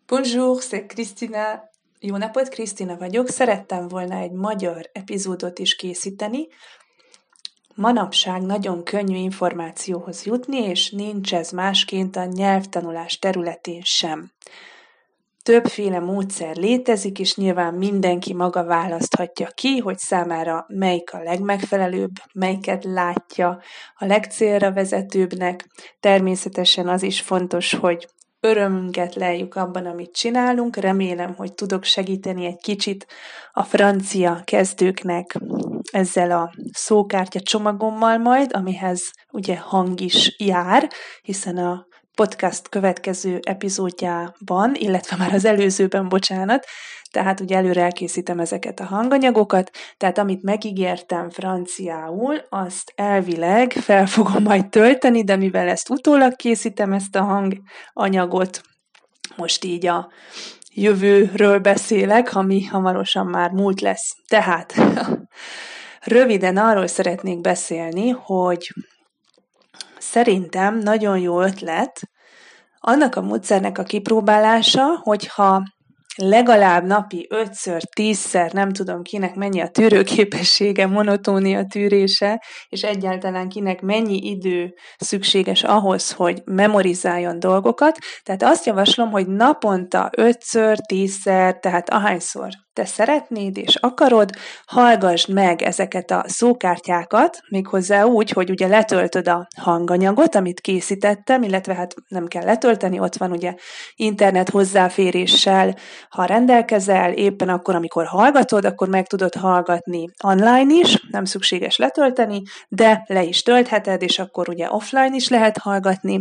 Bonjour, c'est Krisztina. Jó napot, Krisztina vagyok. Szerettem volna egy magyar epizódot is készíteni. Manapság nagyon könnyű információhoz jutni, és nincs ez másként a nyelvtanulás területén sem. Többféle módszer létezik, és nyilván mindenki maga választhatja ki, hogy számára melyik a legmegfelelőbb, melyiket látja a legcélra vezetőbbnek. Természetesen az is fontos, hogy örömünket lejjük abban, amit csinálunk. Remélem, hogy tudok segíteni egy kicsit a francia kezdőknek ezzel a szókártya csomagommal majd, amihez ugye hang is jár, hiszen a podcast következő epizódjában, illetve már az előzőben, tehát ugye előre elkészítem ezeket a hanganyagokat, tehát amit megígértem franciául, azt elvileg fel fogom majd tölteni, de mivel ezt utólag készítem, ezt a hanganyagot, most így a jövőről beszélek, ami hamarosan már múlt lesz. Tehát röviden arról szeretnék beszélni, hogy szerintem nagyon jó ötlet annak a módszernek a kipróbálása, hogyha legalább napi 5-ször, 10-szer, nem tudom kinek mennyi a tűrőképessége, monotónia tűrése, és egyáltalán kinek mennyi idő szükséges ahhoz, hogy memorizáljon dolgokat. Tehát azt javaslom, hogy naponta 5-ször, 10-szer, tehát ahányszor te szeretnéd és akarod, hallgassd meg ezeket a szókártyákat, méghozzá úgy, hogy ugye letöltöd a hanganyagot, amit készítettem, illetve hát nem kell letölteni, ott van ugye internet hozzáféréssel, ha rendelkezel, éppen akkor, amikor hallgatod, akkor meg tudod hallgatni online is, nem szükséges letölteni, de le is töltheted, és akkor ugye offline is lehet hallgatni.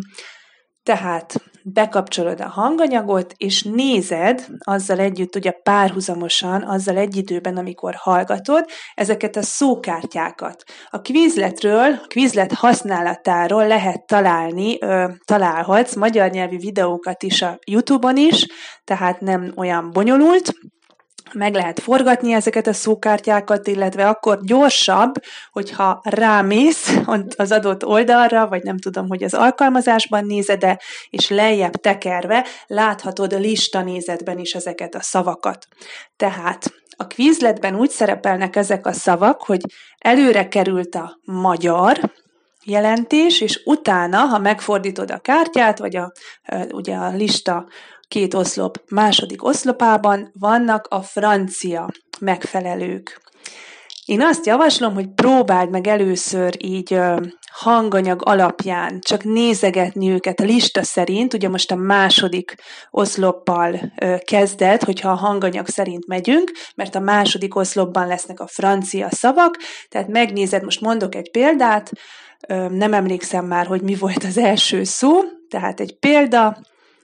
Tehát bekapcsolod a hanganyagot, és nézed azzal együtt, ugye párhuzamosan, azzal egy időben, amikor hallgatod, ezeket a szókártyákat. A Quizlet használatáról lehet találhatsz magyar nyelvű videókat is a YouTube-on is, tehát nem olyan bonyolult, meg lehet forgatni ezeket a szókártyákat, illetve akkor gyorsabb, hogyha rámész az adott oldalra, vagy nem tudom, hogy az alkalmazásban nézed-e, és lejjebb tekerve láthatod a listanézetben is ezeket a szavakat. Tehát a Quizletben úgy szerepelnek ezek a szavak, hogy előre került a magyar jelentés, és utána, ha megfordítod a kártyát, vagy ugye a lista 2 oszlop második oszlopában vannak a francia megfelelők. Én azt javaslom, hogy próbáld meg először így hanganyag alapján csak nézegetni őket a lista szerint, ugye most a második oszloppal kezded, hogyha a hanganyag szerint megyünk, mert a második oszlopban lesznek a francia szavak, tehát megnézed, most mondok egy példát, nem emlékszem már, hogy mi volt az első szó, tehát egy példa,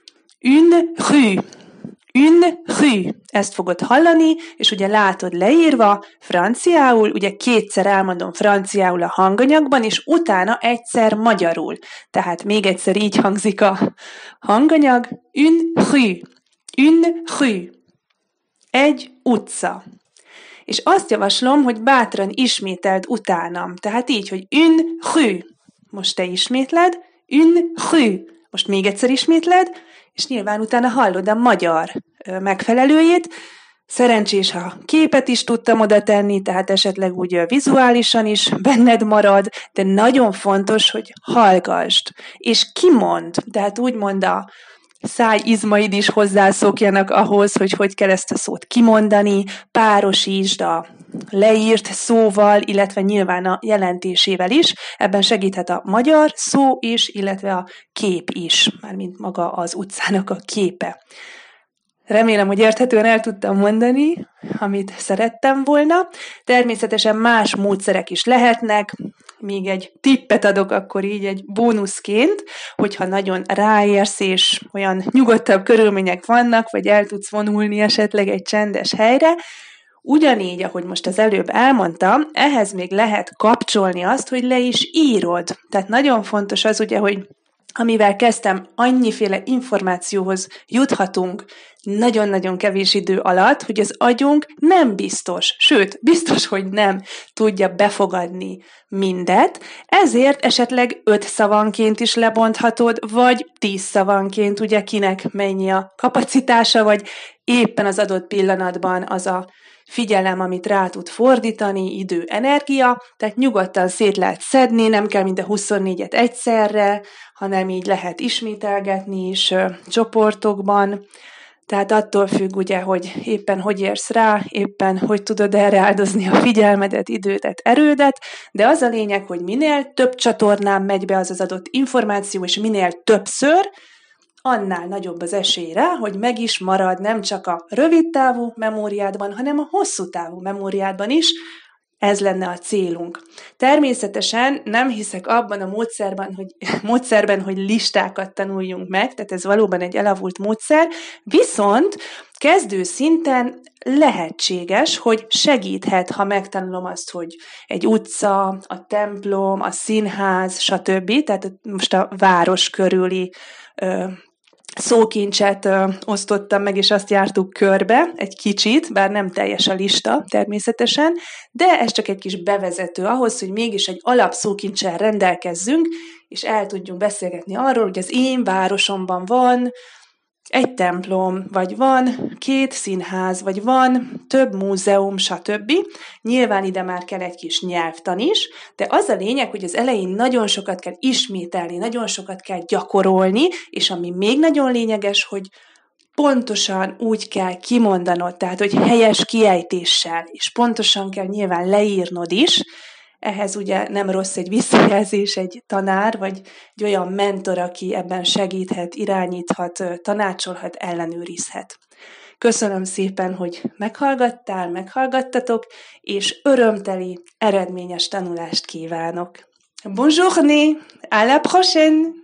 une rue, ezt fogod hallani, és ugye látod leírva franciául, ugye 2-szer elmondom franciául a hanganyagban, és utána egyszer magyarul. Tehát még egyszer így hangzik a hanganyag, une rue, egy utca. És azt javaslom, hogy bátran ismételd utánam. Tehát így, hogy une rue. Most te ismétled, une rue. Most még egyszer ismétled, és nyilván utána hallod a magyar megfelelőjét. Szerencsés, ha képet is tudtam oda tenni, tehát esetleg úgy vizuálisan is benned marad, de nagyon fontos, hogy hallgassd, és kimond, tehát úgymond a szájizmaid is hozzászokjanak ahhoz, hogy kell ezt a szót kimondani, párosítsd a leírt szóval, illetve nyilván a jelentésével is. Ebben segíthet a magyar szó is, illetve a kép is, mármint maga az utcának a képe. Remélem, hogy érthetően el tudtam mondani, amit szerettem volna. Természetesen más módszerek is lehetnek. Még egy tippet adok akkor így egy bónuszként, hogyha nagyon ráérsz, és olyan nyugodtabb körülmények vannak, vagy el tudsz vonulni esetleg egy csendes helyre, ugyanígy, ahogy most az előbb elmondtam, ehhez még lehet kapcsolni azt, hogy le is írod. Tehát nagyon fontos az ugye, hogy amivel kezdtem, annyiféle információhoz juthatunk nagyon-nagyon kevés idő alatt, hogy az agyunk nem biztos, sőt, biztos, hogy nem tudja befogadni mindet, ezért esetleg 5 szavanként is lebonthatod, vagy 10 szavanként, ugye kinek mennyi a kapacitása, vagy éppen az adott pillanatban az a figyelem, amit rá tud fordítani, idő, energia, tehát nyugodtan szét lehet szedni, nem kell mind a 24-et egyszerre, hanem így lehet ismételgetni is csoportokban. Tehát attól függ ugye, hogy éppen hogy érsz rá, éppen hogy tudod erre áldozni a figyelmedet, idődet, erődet, de az a lényeg, hogy minél több csatornán megy be az adott információ, és minél többször, annál nagyobb az esély rá, hogy meg is marad nem csak a rövid távú memóriádban, hanem a hosszú távú memóriádban is. Ez lenne a célunk. Természetesen nem hiszek abban a módszerben, hogy listákat tanuljunk meg, tehát ez valóban egy elavult módszer, viszont kezdő szinten lehetséges, hogy segíthet, ha megtanulom azt, hogy egy utca, a templom, a színház, stb. Tehát most a város körüli szókincset osztottam meg, és azt jártuk körbe egy kicsit, bár nem teljes a lista természetesen, de ez csak egy kis bevezető ahhoz, hogy mégis egy alapszókincsel rendelkezzünk, és el tudjunk beszélgetni arról, hogy az én városomban van egy templom, vagy van 2 színház, vagy van több múzeum, stb. Nyilván ide már kell egy kis nyelvtan is, de az a lényeg, hogy az elején nagyon sokat kell ismételni, nagyon sokat kell gyakorolni, és ami még nagyon lényeges, hogy pontosan úgy kell kimondanod, tehát hogy helyes kiejtéssel, és pontosan kell nyilván leírnod is. Ehhez ugye nem rossz egy visszajelzés, egy tanár, vagy egy olyan mentor, aki ebben segíthet, irányíthat, tanácsolhat, ellenőrizhet. Köszönöm szépen, hogy meghallgattatok, és örömteli, eredményes tanulást kívánok. Bonne journée! À la prochaine!